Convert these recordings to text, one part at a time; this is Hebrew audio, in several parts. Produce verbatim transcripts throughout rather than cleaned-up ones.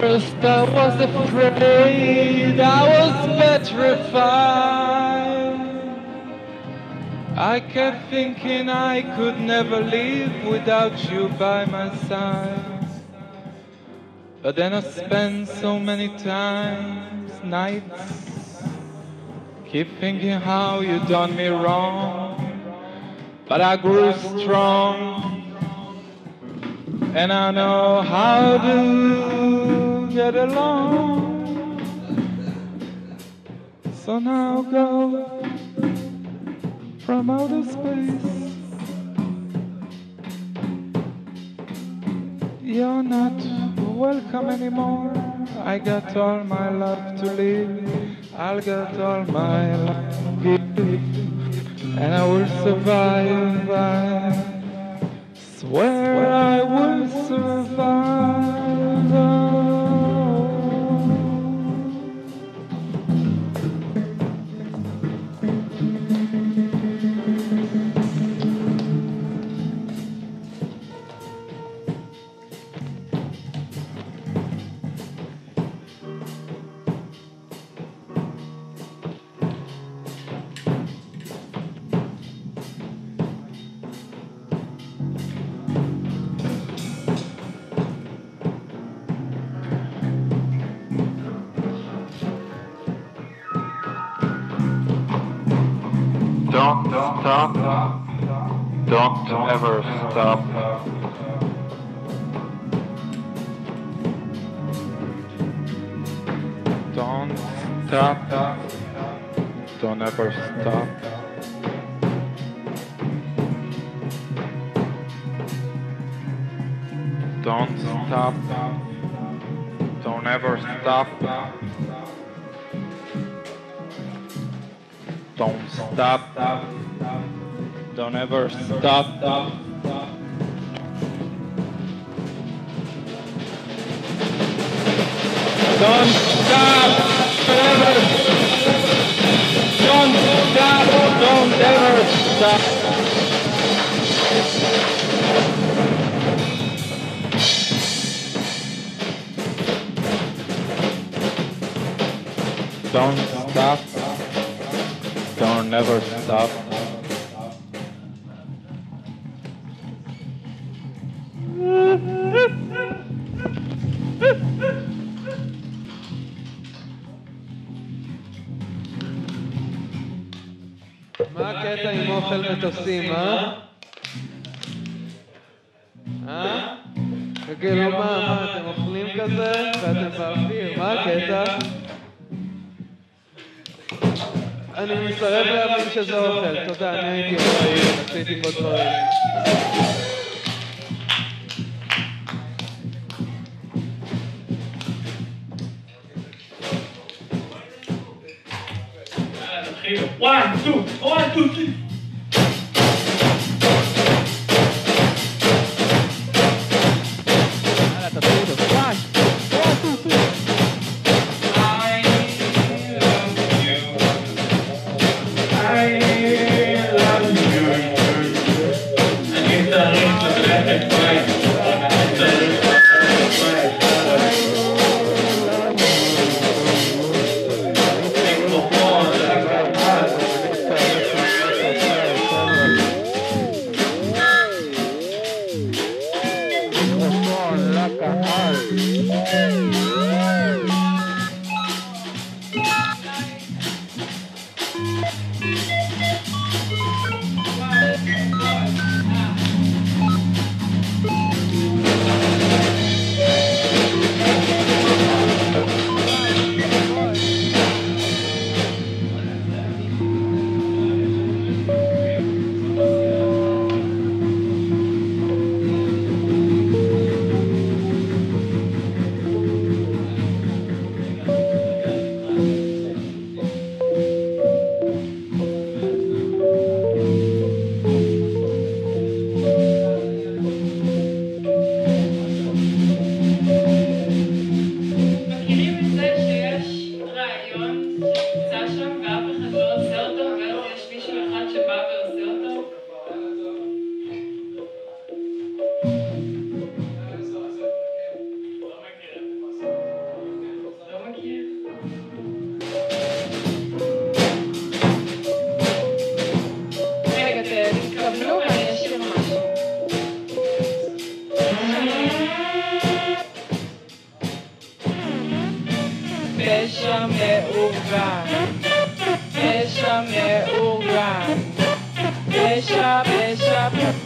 First I was afraid, I was petrified. I kept thinking I could never live without you by my side. But then I spent so many times, nights, keep thinking how you done me wrong. But I grew strong, and I know how to get along. So now go from outer space. You're not welcome anymore. I got all my love to live. I'll get all my love to give, and I will survive. I swear I will survive. Don't stop, don't ever stop. Don't stop, don't ever stop. Don't stop, don't ever stop. Don't stop, don't ever stop. Don't stop, ever. Don't stop, don't ever stop. Don't stop. Don't never stop. מה הקטע עם אוכל מטוסים, אה? אה? כאילו מה, מה, אתם אוכלים כזה? ואתם באוויר, מה הקטע? אני מסרב להבין שזה אוכל, תודה, אני הייתי אחראי, עשיתי פה דברים. One, two, one, two, three.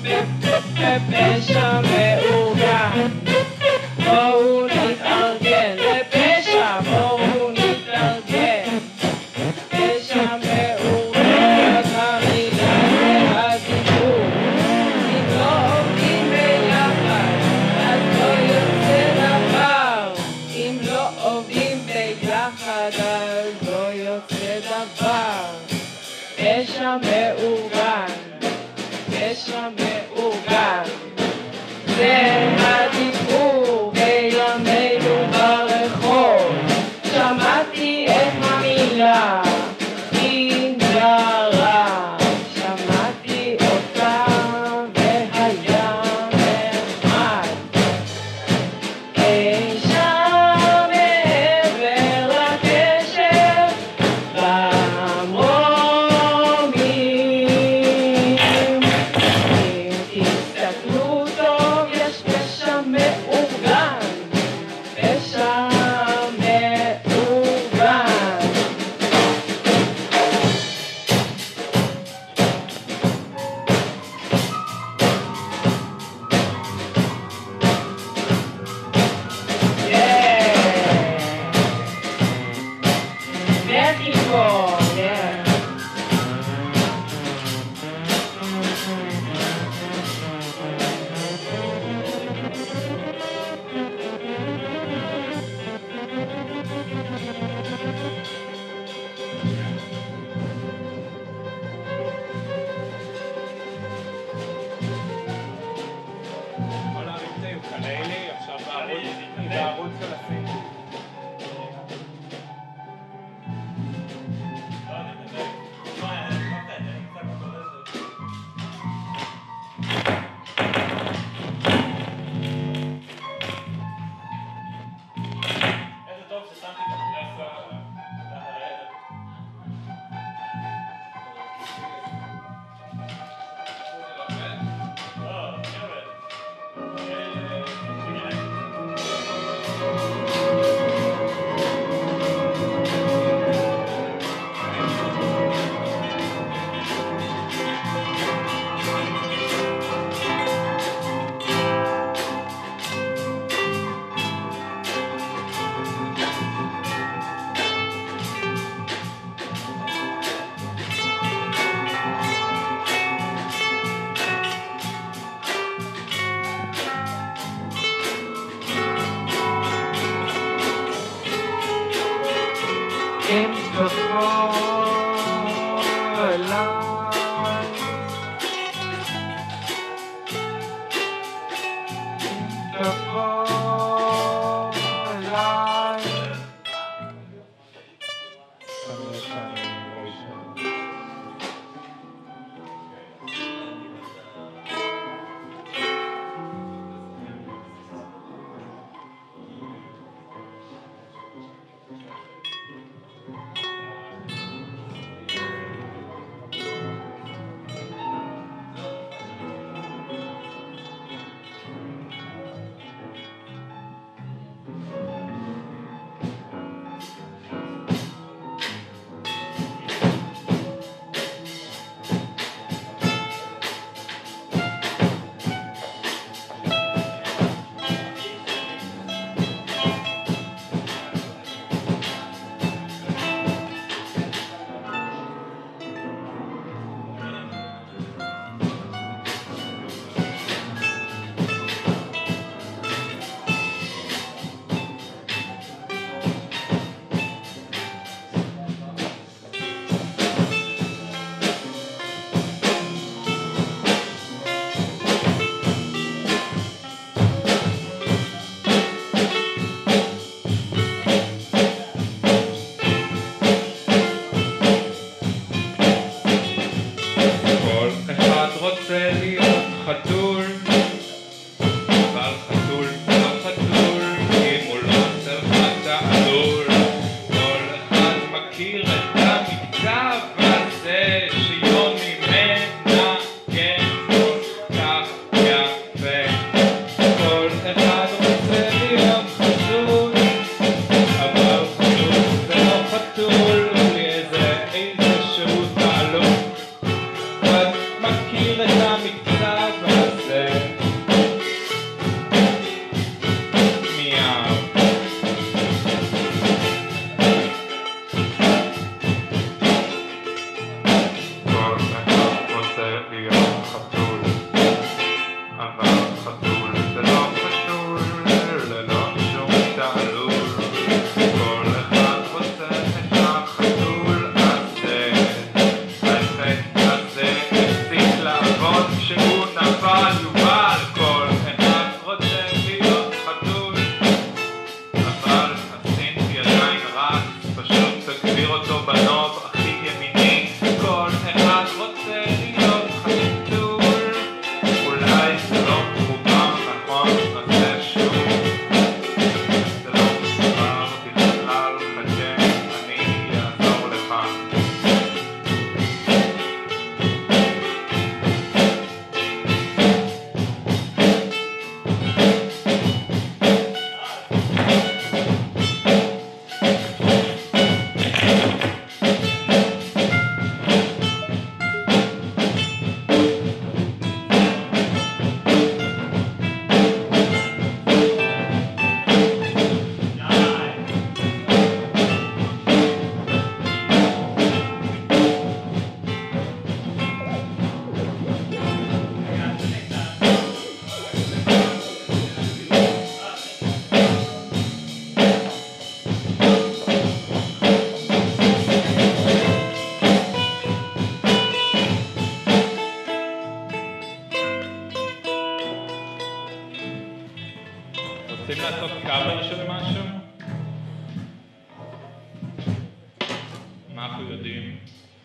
פשע מאורגן. בואו נתארגן לפשע, בואו נתארגן. פשע מאורגן, המילה והדיבור. אם לא עובדים ביחד, אז לא יוצא דבר. אם לא עובדים ביחד, אז לא יוצא דבר. פשע מאורגן, פשע מאורגן. זה הדיבור בימינו ברחוב. שמעתי את המילה אינג'רה, שמעתי אותה והיה נחמד. אי שם מעבר לקשר במרומים, אם תסתכלו טוב יש פשע מאורגן, פשע מאורגן. México, yeah. כל המבצעים כאלה, עכשיו בערוץ של הסינטי. איזה טוב ששמתי את הפרסה תחת הערב. לא, חבר'ה. אם תבוא אליי, אם תבוא אליי. רוצה להיות חתול, אבל חתול לא חתול, אם הוא לא צריך תעלול. כל אחד מכיר את המכתב הזה שיוני מנגן כל כך יפה. כל אחד רוצה להיות חתול, אבל חתול ולא חתול, בלי איזה איזשהו תעלול. מכיר את המכתב להיות חתול, אבל חתול זה לא חתול, ללא שום תעלול. כל אחד רוצה את החתול הזה, האפקט הזה הפסיק לעבוד כשהוא נפל יובל. כל אחד רוצה להיות חתול, אבל הסינטי עדיין רץ, פשוט תגביר אותו בנוב הכי ימיני. כל אחד רוצה להיות חתול, אולי זה לא מחובר נכון, נעשה שוב. זה לא מחובר בכלל, חכה, אני אעזור לך. רוצים לעשות קאבר של משהו? מה אנחנו יודעים?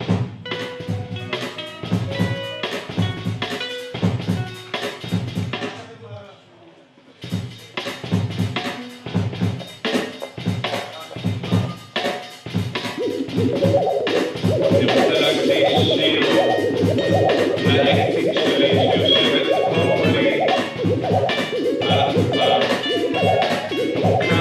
אני רוצה להקדיש שיר לאקסיט שלי שיושבת פה מולי על הספה.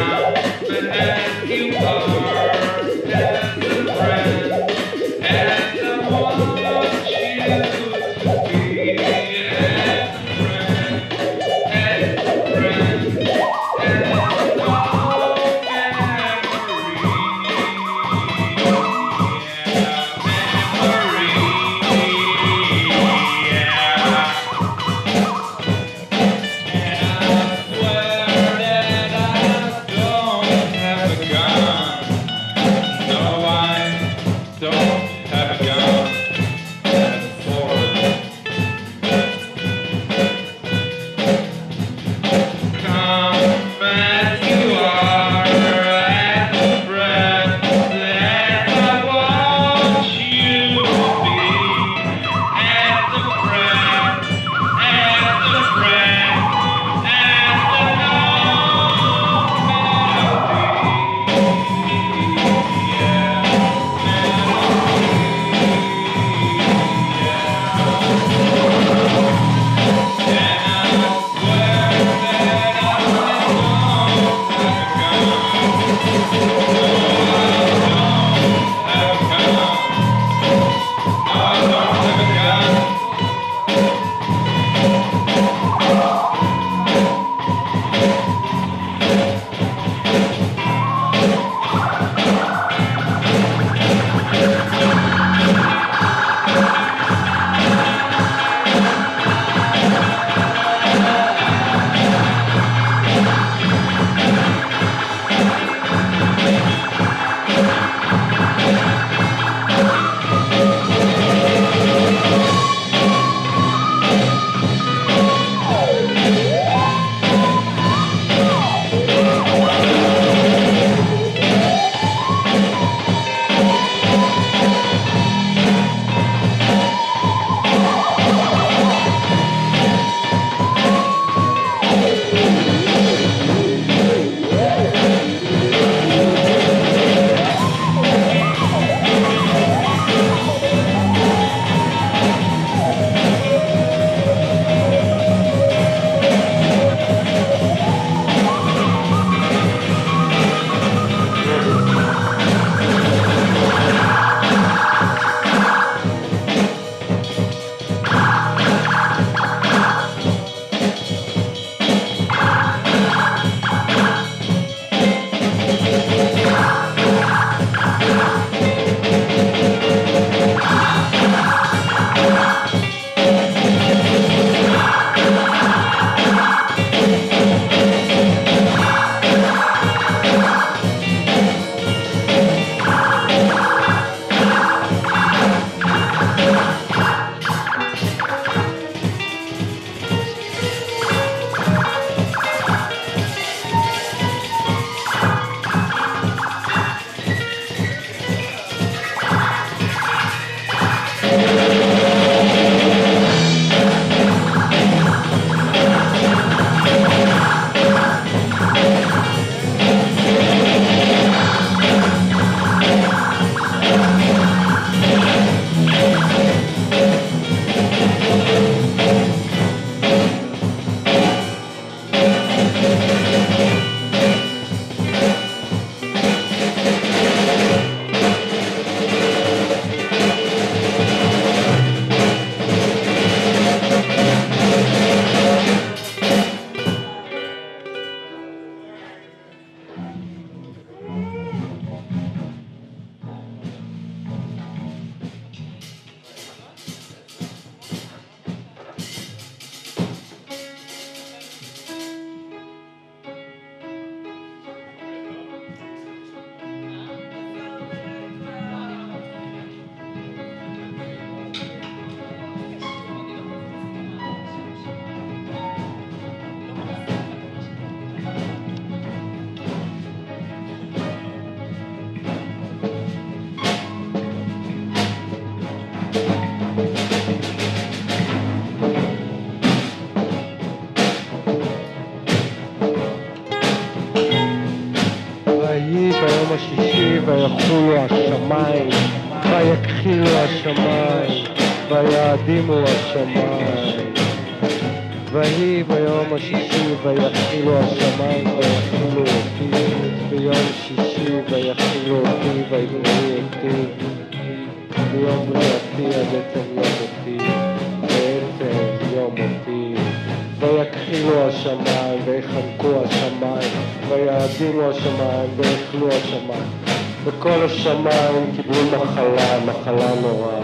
השמיים, ויאדימו השמיים. ויהי ביום השישי ויכילו השמיים ויכילו אותי, ביום שישי ויכילו אותי ויבראו אותי, ביום בריאתי עד עצם יום אותי, בעצם יום אותי. ויכחילו השמיים ויחנקו השמיים, ויאדימו השמיים ויכלו השמיים, וכל השמיים קיבלו מחלה, מחלה נוראה,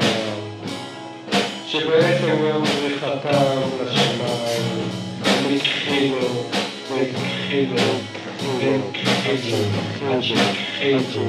שבעצם יום בריחתם לשמיים הם הכחילו והכחילו והכחילו והכחילו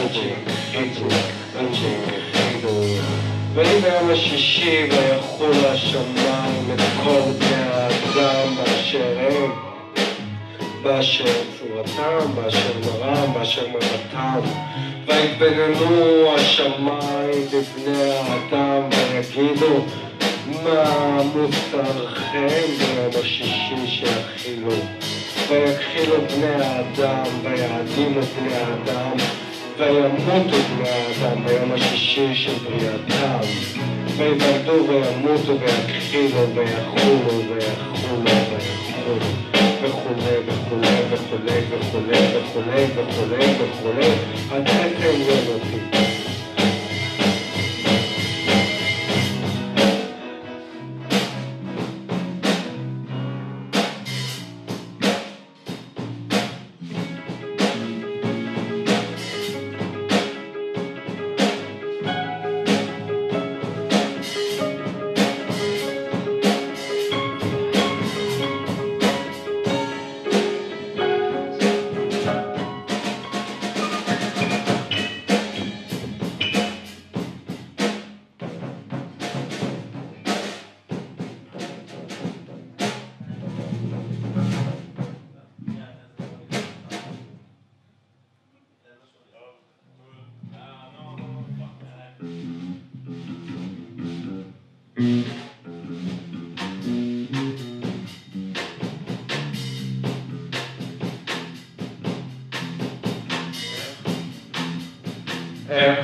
והכחילו. ויהי ביום השישי ויחול השמיים את כל בני האדם באשר הם, באשר צורתם, באשר מרם, באשר מבטם. ויתבוננו השמיים בבני האדם ויגידו, מה מוסרכם ביום השישי שיכחילו? ויכחילו בני האדם ויאדימו בני האדם וימותו בני האדם ביום השישי של בריאתם, ויוולדו וימותו ויכחילו ויחולו ויחולו ויחולו וכולי וכולי וכולי וכולי וכולי וכולי וכולי עד עצם יום אותי. איך,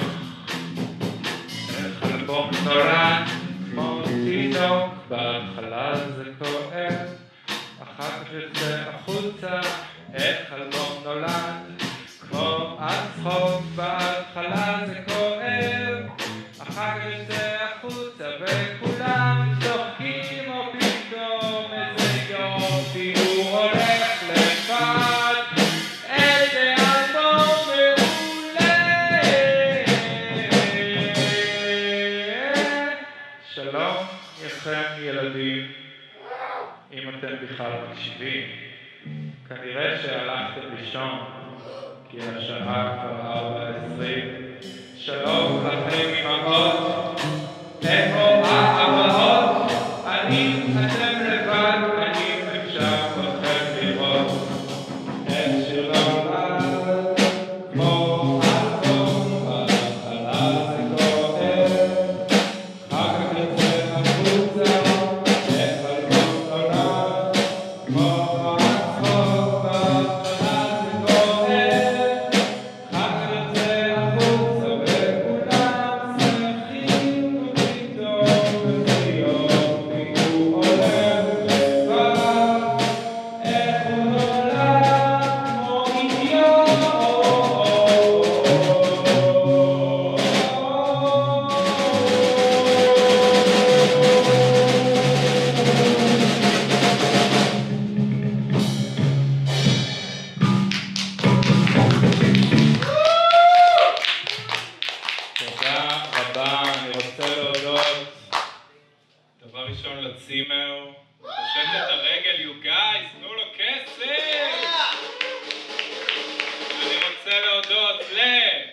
איך אלבום נולד כמו תינוק, בהתחלה זה כואב, אחר כך יוצא החוצה. איך אלבום נולד כמו הצחוק, בהתחלה זה כואב, אחר כך יוצא החוצה וכולם צוחקים, או פתאום איזה יופי הוא הולך לבד. איזה אלבום שלום לכם ילדים, אם אתם בכלל מקשיבים, כנראה שהלכתם לישון, כי השעה כבר ארבע עשרים. שלום לכם אמהות, איפה האבהות? אני אתם לבד, אני אפשר לכם לראות איך שלא נולד כמו אלבום, בהתחלה זה כואב, אחר כך יוצא החוצה. איך אלבום נולד כמו הצחוק, בהתחלה זה כואב, אחר כך יוצא החוצה וכולם שמחים, ופתאום איזה יופי הוא הולך לבד. איך הוא נולד כמו אידיוט. תודה רבה, אני רוצה להודות דבר ראשון לצימר, פושט את הרגל, you guys, תנו לו כסף. אני רוצה להודות ל...